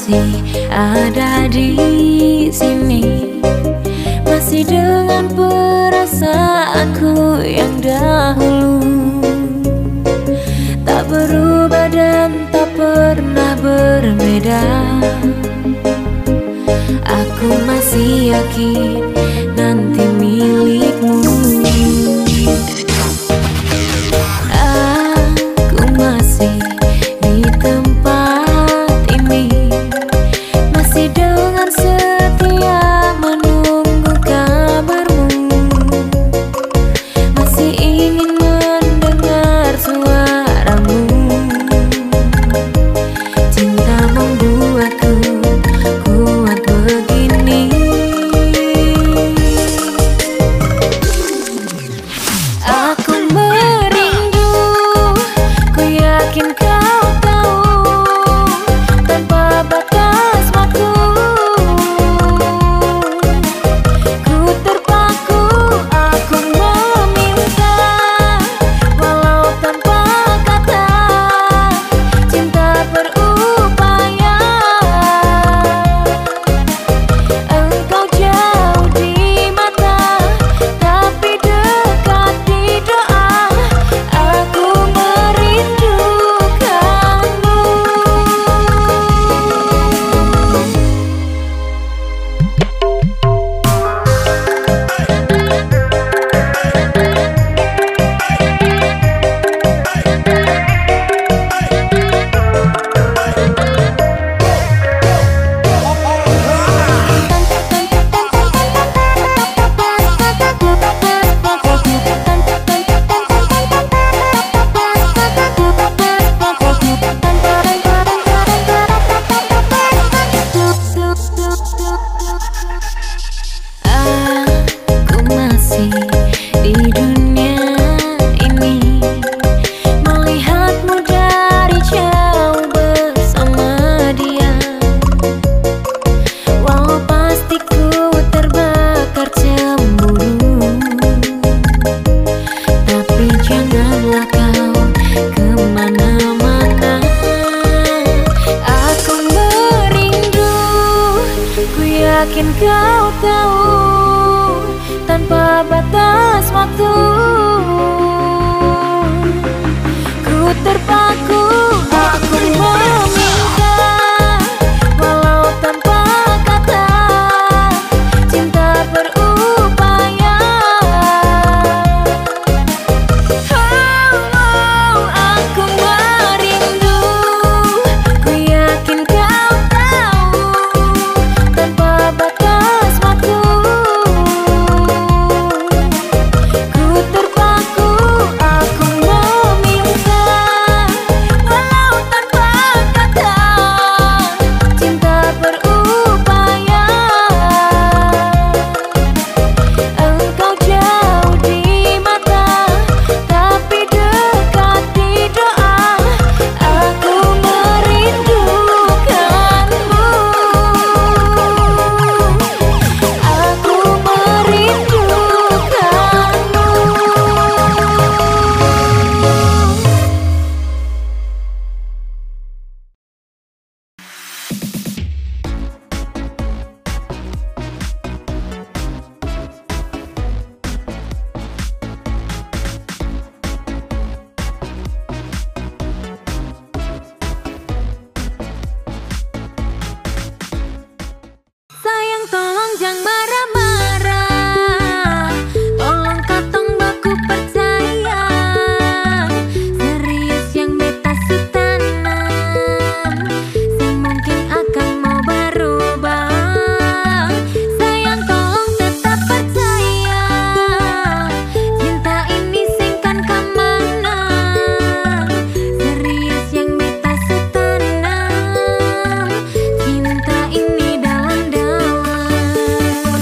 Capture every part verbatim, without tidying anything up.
masih ada di sini, masih dengan perasaanku yang dahulu, tak berubah dan tak pernah berbeda. Aku masih yakin nanti milikmu. Aku masih di tempat ini, masih dengan setia menunggu kabarmu, masih ingin mendengar suaramu. Cinta membuatku kuat begini. Aku merindu, ku yakin kau tahu, tanpa batas waktu. Ku terpaku, aku meminta, walau tanpa kata. Cinta berupaya, engkau jauh di mata, tapi dekat di doa. Aku merindukanmu. Aku masih di dunia ini, melihatmu dari jauh bersama dia. Walau pasti ku terbakar cemburu, tapi janganlah kau kemana-mana. Aku merindu, ku yakin kau tahu, tanpa batas waktu. Ku terpaku, aku meminta, walau tanpa kata. Cinta berupaya. Oh, aku merindu, ku yakin kau tahu, tanpa batas waktu. Ku terpaku, aku meminta, walau tanpa kata. Cinta berupaya, engkau jauh di mata, tapi dekat di doa. Aku merindukanmu. Aku sayang, tolong jangan marah-marah, tolong katong baku percaya. Serius yang beta sutanam, sing mungkin akan mau berubah. Sayang, tolong tetap percaya, cinta ini singkan kemana. Serius yang beta sutanam, cinta ini dalam-dalam.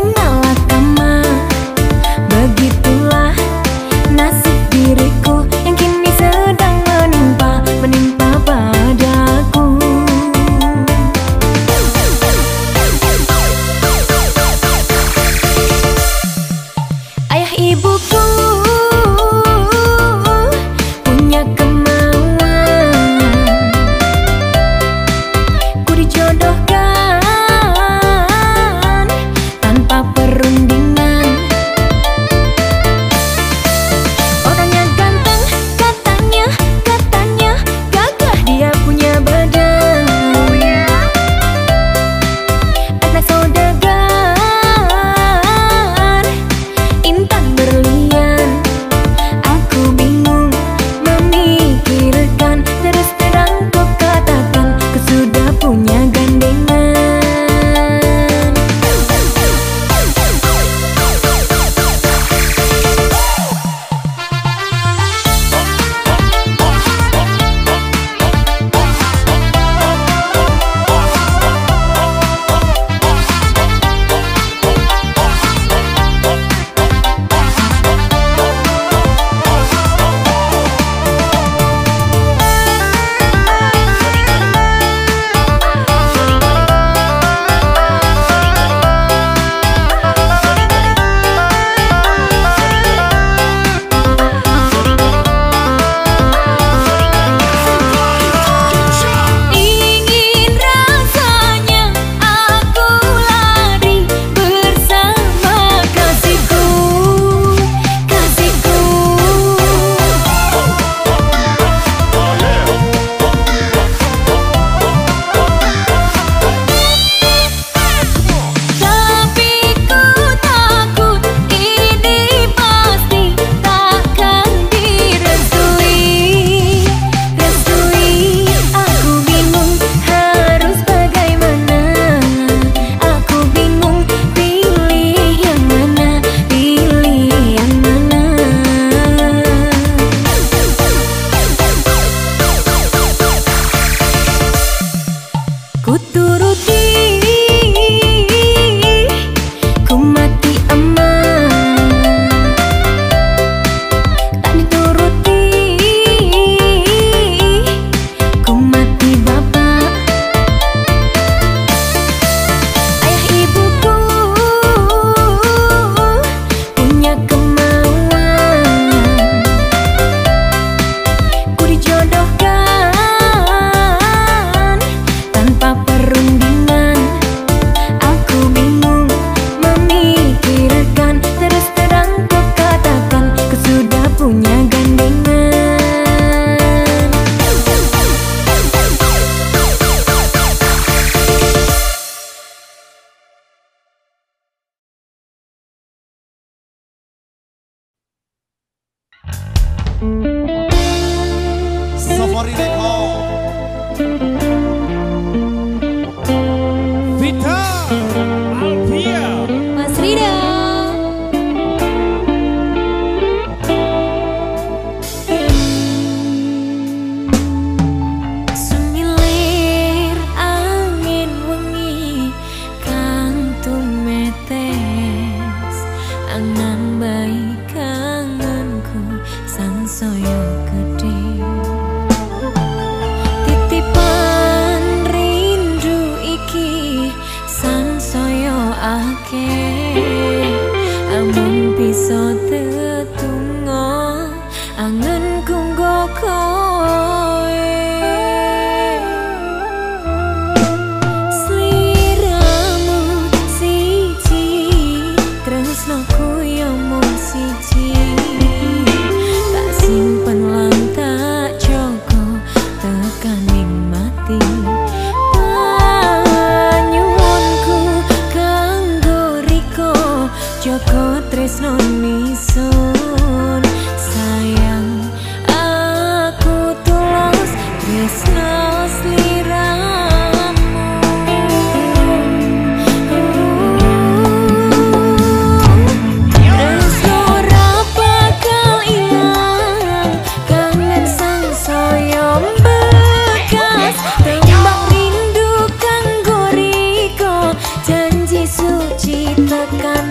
Safari Record Vita Alvia Mas Rida Semilir angin wengi kang tumetes angan baik kangenku sansaya gede titipan rindu iki sansaya akeh amun bisa tetunggo angenku nggo koe sliramu siji tresnoku yo mung siji tak simpen lan tak jaga tekaning mati panyuwunku kanggo riko jaga tresno nisun sayang aku tulus tresno sliramu tresno ra bakal ilang kangen sansaya bekas tembak rindu kanggo riko janji suci tekan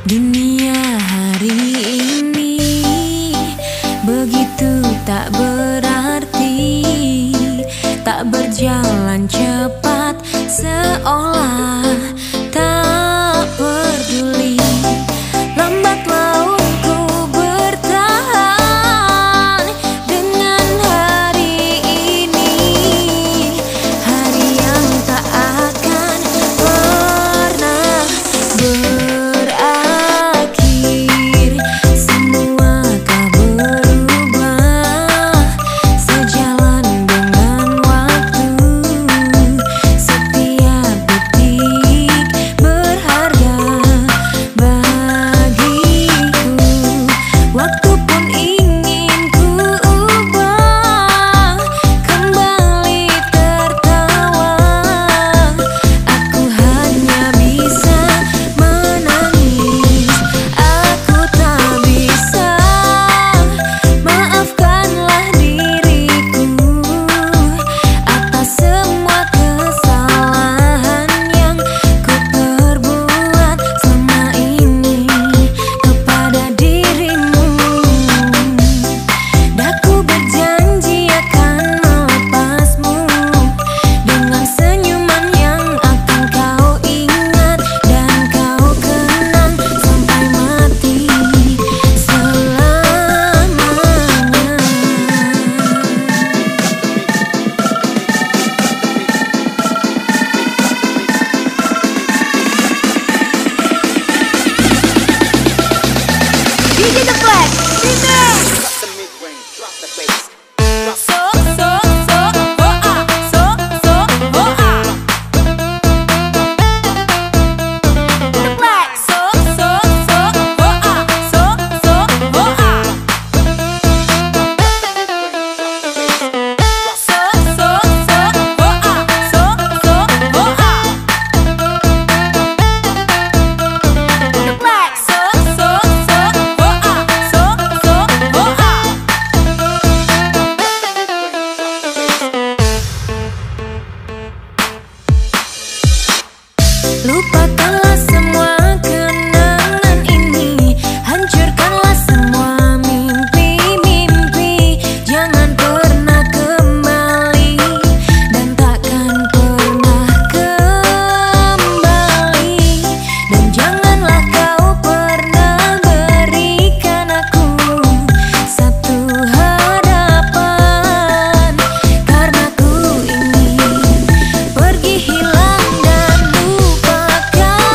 Dunia hari ini begitu tak berarti, tak berjalan cepat seolah tak peduli. Lambat laun ku bertahan dengan hari ini, hari yang tak akan pernah berakhir. Semua tak berubah sejalan dengan waktu. Setiap detik berharga bagiku. Waktu pun ingin ku ubah kembali tertawa. Aku hanya bisa menangis, aku tak bisa. Maafkanlah diriku atas semua kesalahan yang ku perbuat selama ini kepada dirimu. Daku berjanji akan melepasmu dengan senyuman yang akan kau ingat dan kau kenang sampai mati selamanya. D J The Flex, remix. So, so, so, oh ah, so, so, oh ah. The Flex, so, so, so, oh ah, so, so, oh ah. So, so, so, oh ah, so, so, oh ah. The Flex, so, so, so, oh ah, so, so, oh ah. Lupakanlah semua kenangan ini, hancurkanlah semua mimpi-mimpi. Jangan pernah kembali dan takkan pernah kembali. Dan janganlah kau pernah berikan aku satu harapan, karena ku ingin pergi hilang dan lupakan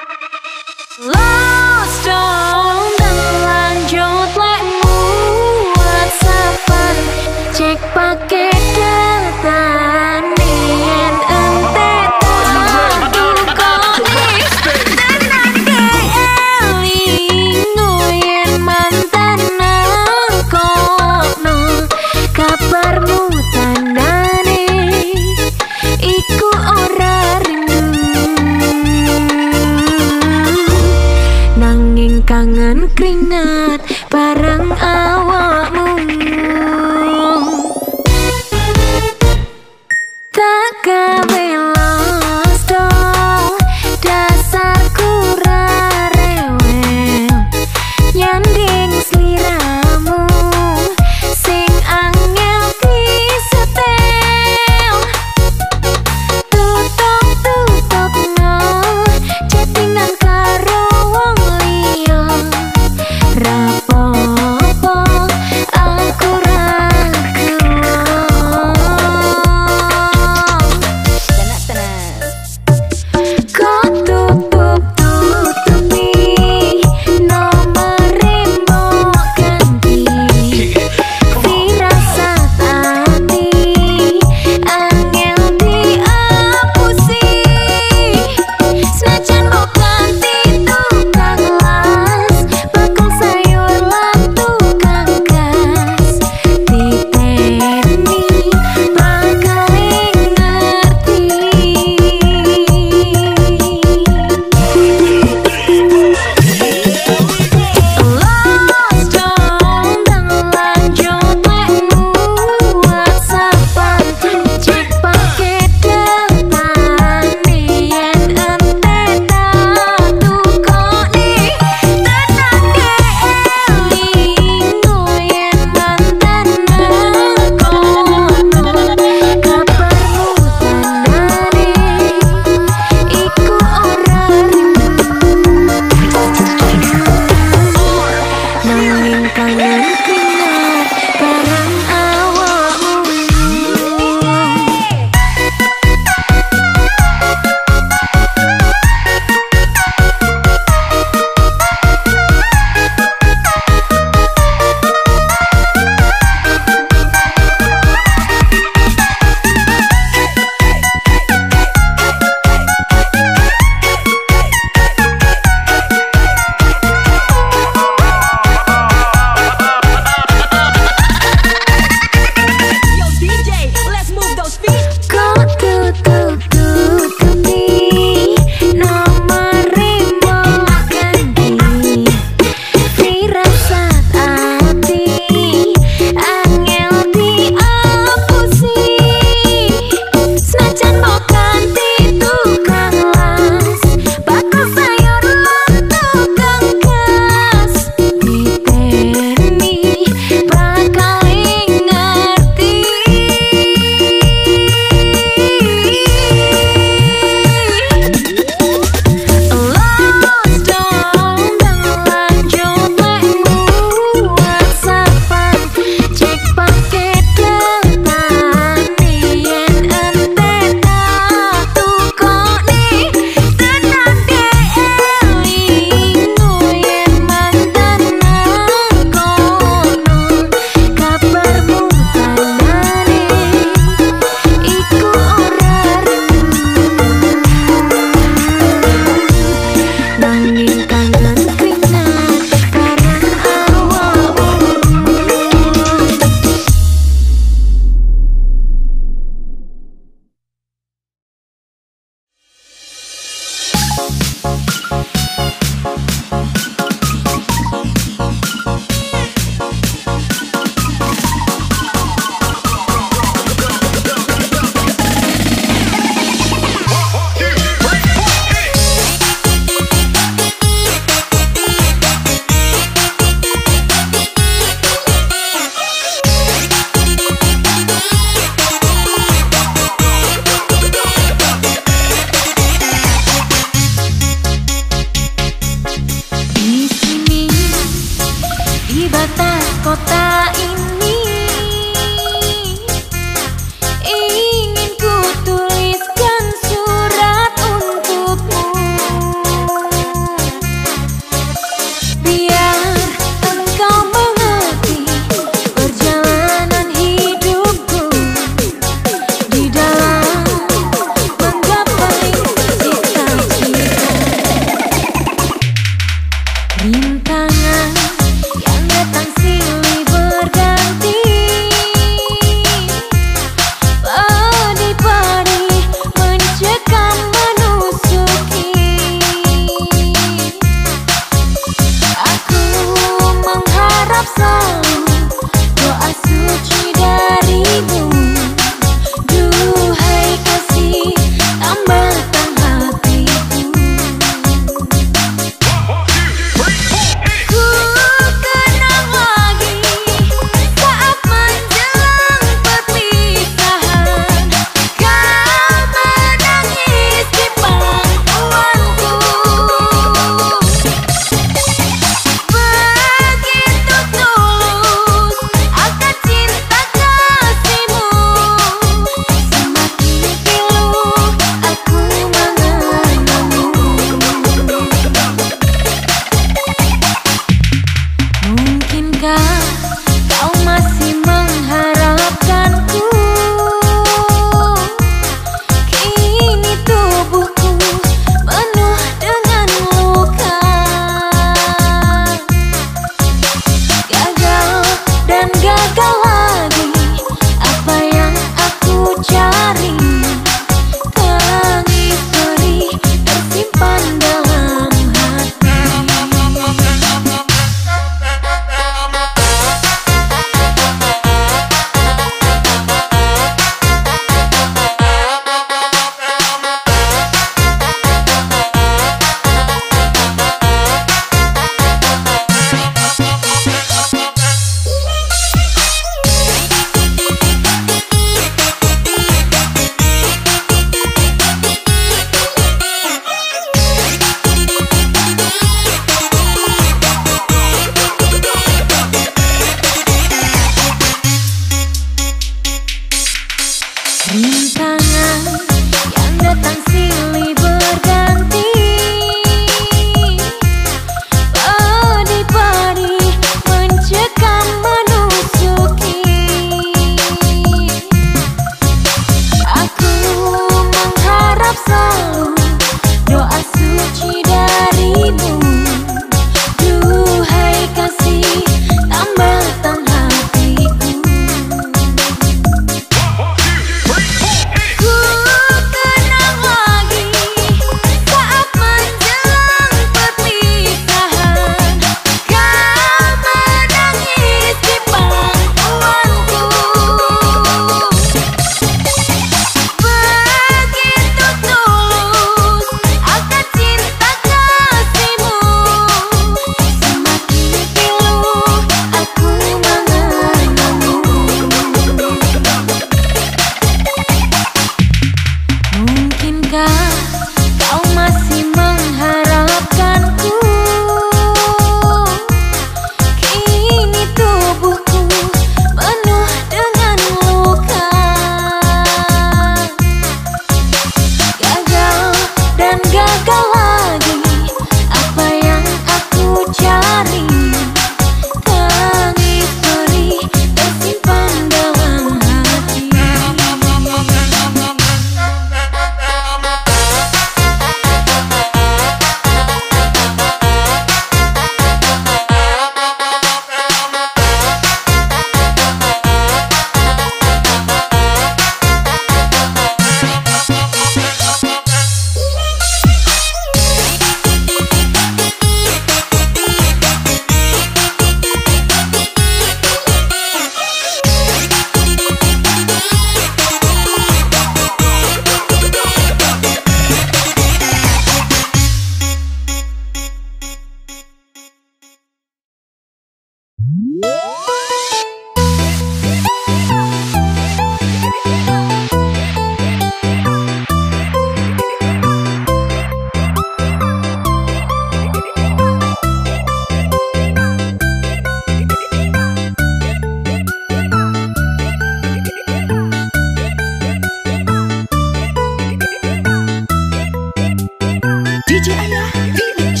D J Ayah Remix.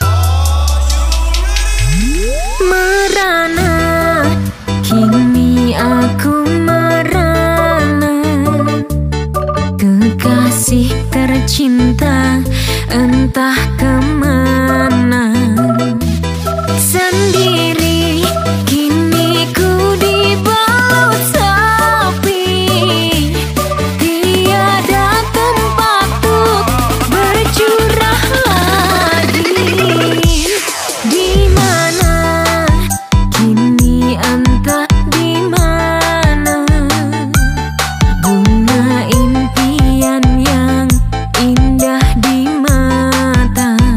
Merana, kini aku merana, kekasih tercinta entah kemana. Sendiri kini ku dibalut sepi, tiada tempat untuk bercurah lagi. Di mana kini entah di mana, bunga impian yang indah di mata.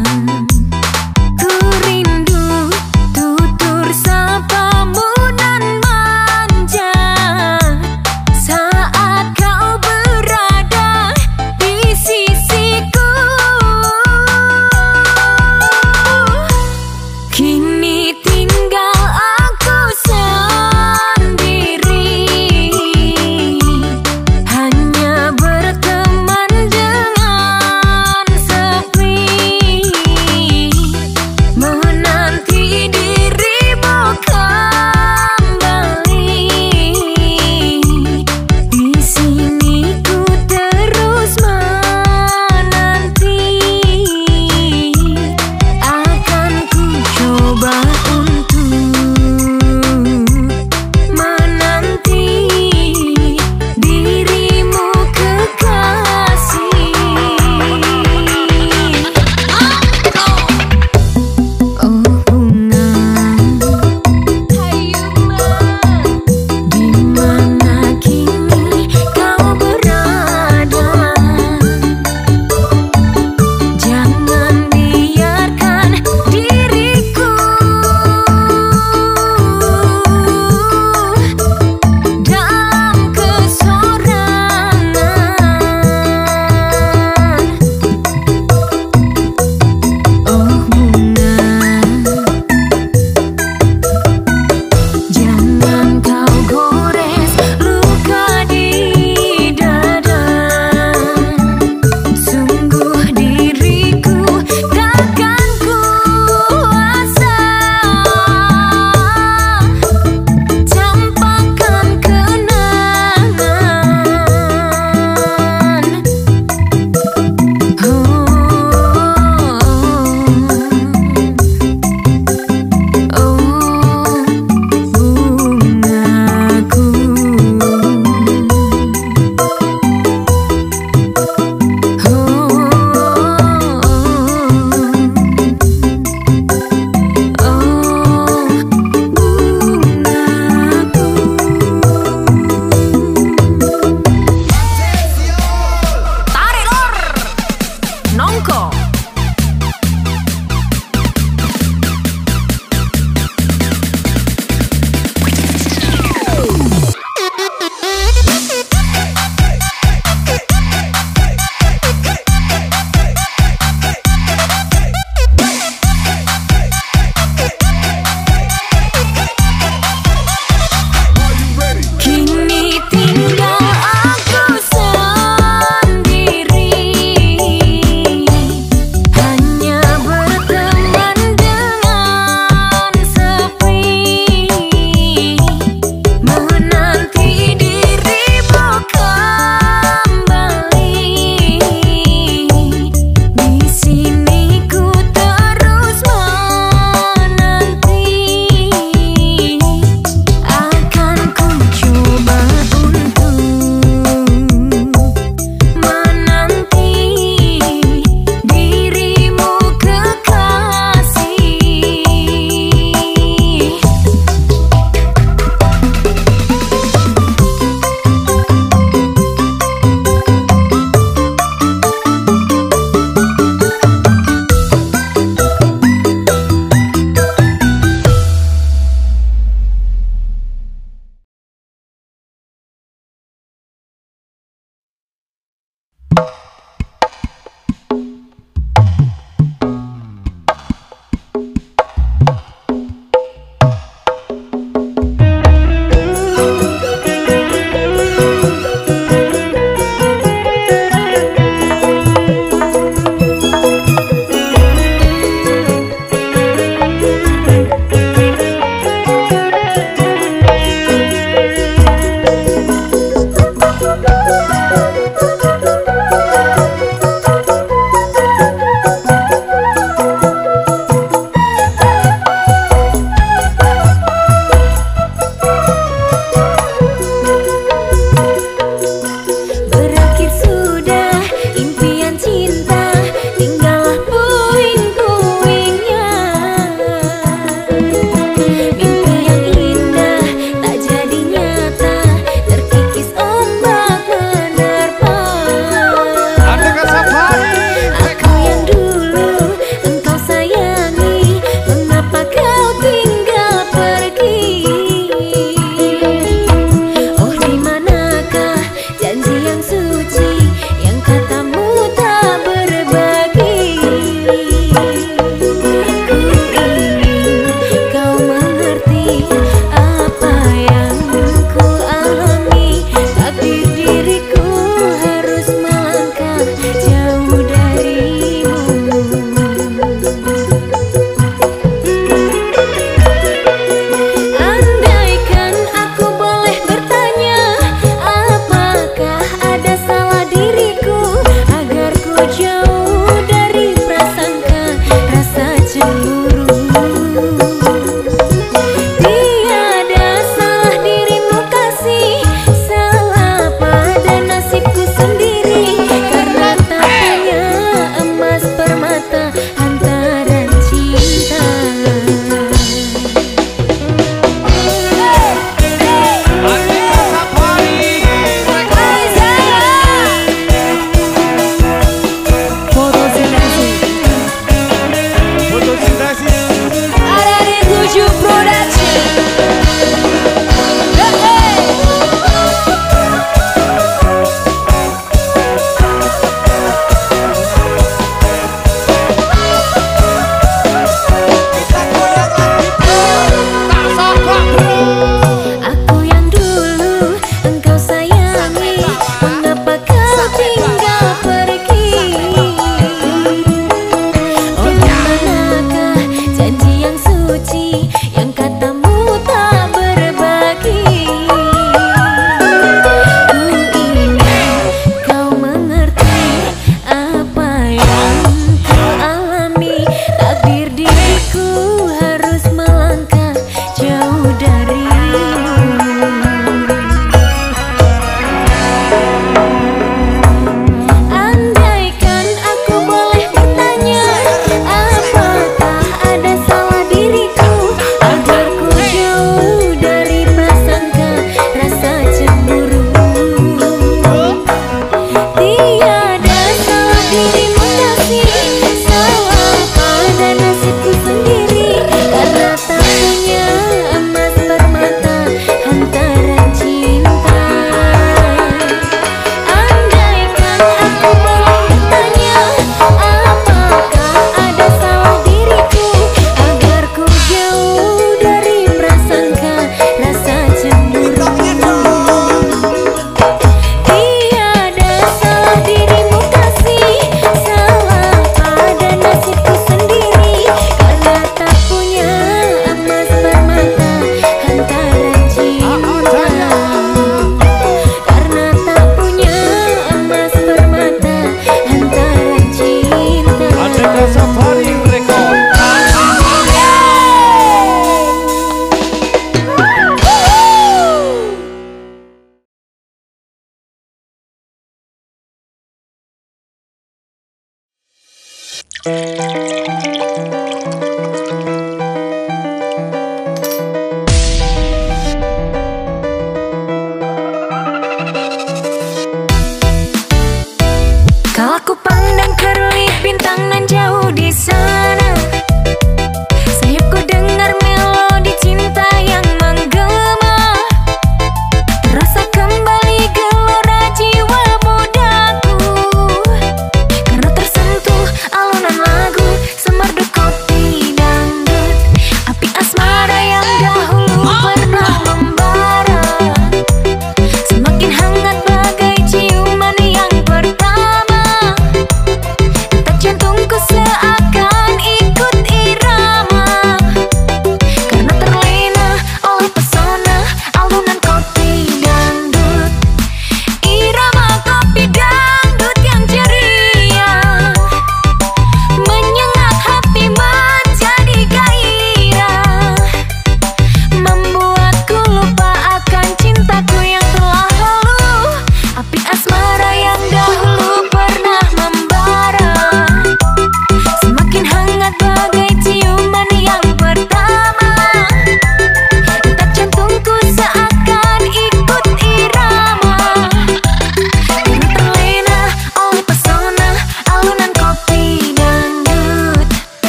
Kalau ku pandang kerlip bintang nan jauh di sana, sayapku dengar melodi cinta yang menggema. Terasa kembali gelora jiwa mudaku, karena tersentuh alunan lagu semerdu kopi dangdut. Api asmara yang dahulu pernah membara, semakin hangat bagai ciuman yang pertama. Detak jantungku seakan ikut irama, karena terlena oleh pesona alunan kopi dangdut. Irama kopi dangdut yang ceria menyengat hati menjadi gairah, membuatku lupa akan cintaku yang telah lalu. Api asmara yang dahulu pernah membara, semakin hangat bagai ciuman yang pertama. Detak jantungku seakan ikut irama, karena terlena oleh pesona alunan kopi dangdut.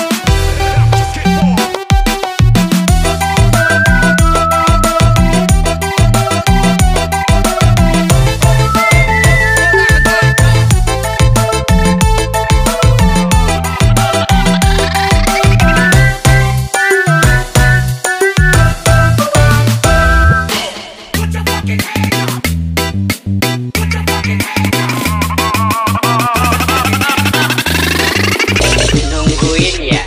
Nungguin ya.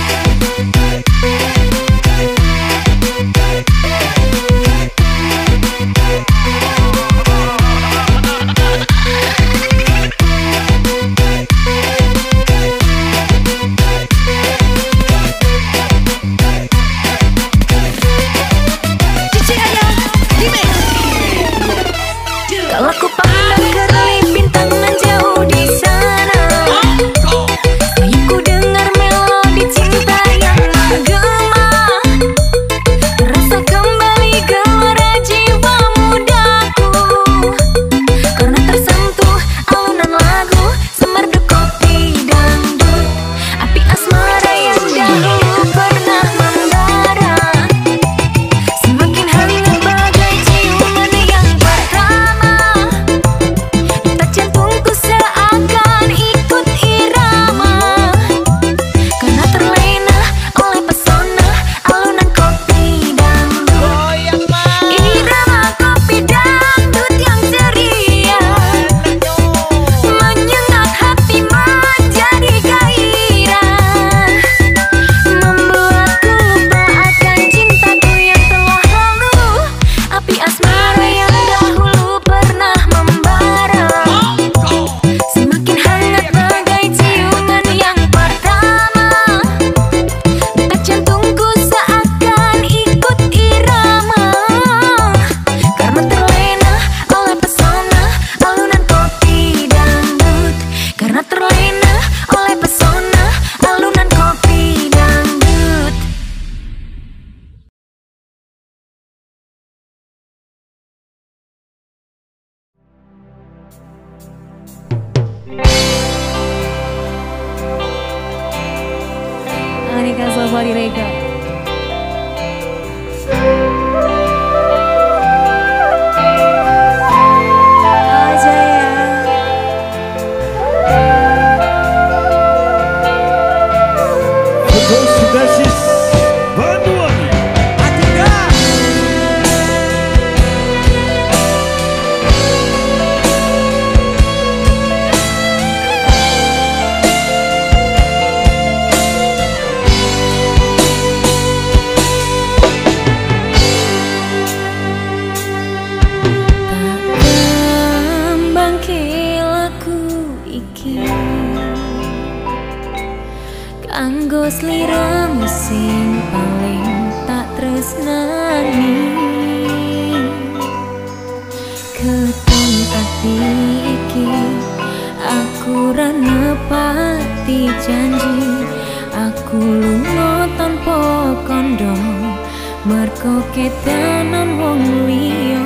Kalau ku pandang kerlip bintang nan jauh di sana, sayapku dengar melodi cinta yang menggema. Terasa kembali gelora jiwa mudaku, karena tersentuh alunan lagu semerdu kopi dangdut. Api asmara yang dahulu pernah membara, semakin hangat bagai ciuman yang pertama. Detak jantungku seakan ikut irama, karena terlena oleh pesona alunan kopi dangdut. Irama kopi dangdut yang ceria menyengat hati menjadi gairah, membuatku lupa akan cintaku yang telah lalu. Api asmara yang dahulu pernah membara, semakin hangat bagai ciuman yang pertama. Detak jantungku seakan ikut irama, karena terlena oleh pesona alunan kopi dangdut. Karena terlena oleh pesona alunan kopi dangdut. Anika Safari Reka. Aja ya. Foto Sudasis Banyuwangi. Adinda. Kanggo sliramu sing paling tak tresnani, keton ati iki aku ra nepati. nepati janji aku lunga tanpa kondo merko kedanan wong liya.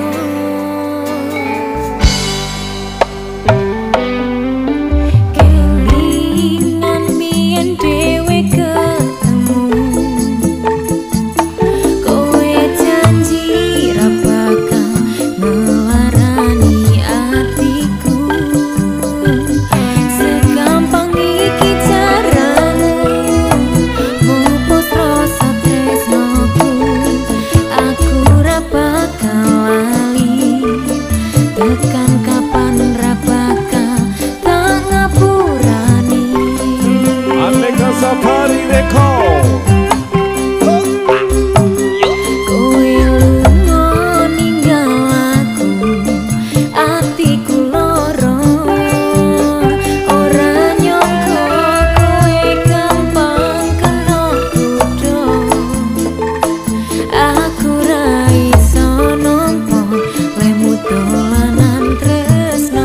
Kelingan biyen dhewe ketemu kowe janji ra bakal ngelarani atiku. Segampang iki caramu mupus rasa tresnoku. Aku ra bakal lali tekan kapan ra bakal tak ngapurani. Aneka Safari Record. Kowe lunga ninggal aku, atiku loro. Ora nyangka kowe gampang kena kudo. Aku ra iso nampa lemu dolanan tresno.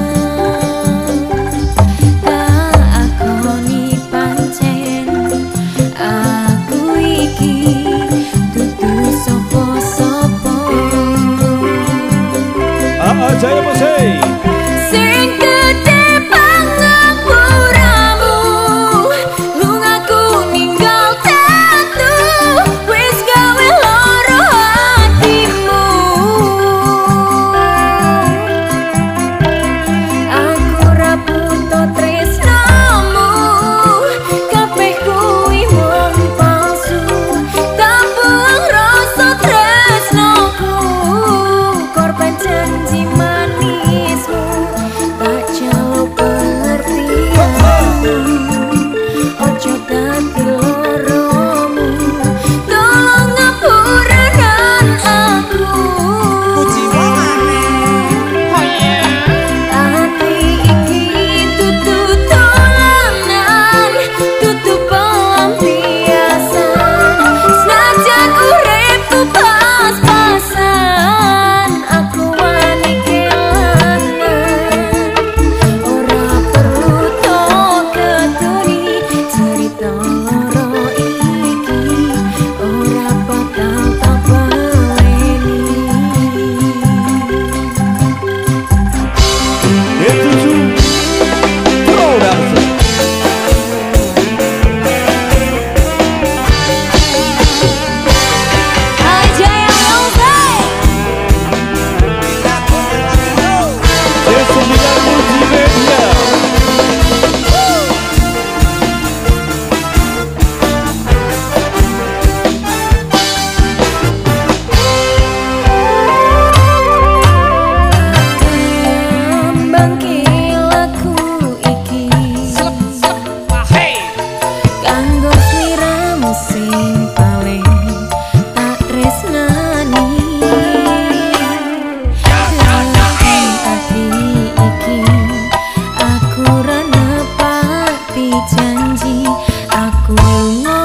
Tak akoni pancen aku iki dudu sapa-sapa. Aa Jaya Musik. Sing gedhe pangapuramu, lungaku ninggal tatu, wis gawe loro hatimu. Aku ra butuh tresnamu, kabeh kuwi mung palsu. Tak buang rasa tresnoku, korban janji manismu. Tak jauh pengertianmu, ojo dadi loromu. Tolong ngapurakan aku. Ati iki dudu dolanan, dudu pelampiasan. Senajan uripku pas-pasan, aku wani kelangan. Ora perlu tok ketuni, cerita loro iki ora bakal tak baleni. Etuju Production. Ajaya Musik. C sembilan Multimedia. Bangke laku iki kanggo sliramu sing paling tak tresnani. Dalam ati iki aku ra nepati janji aku lunga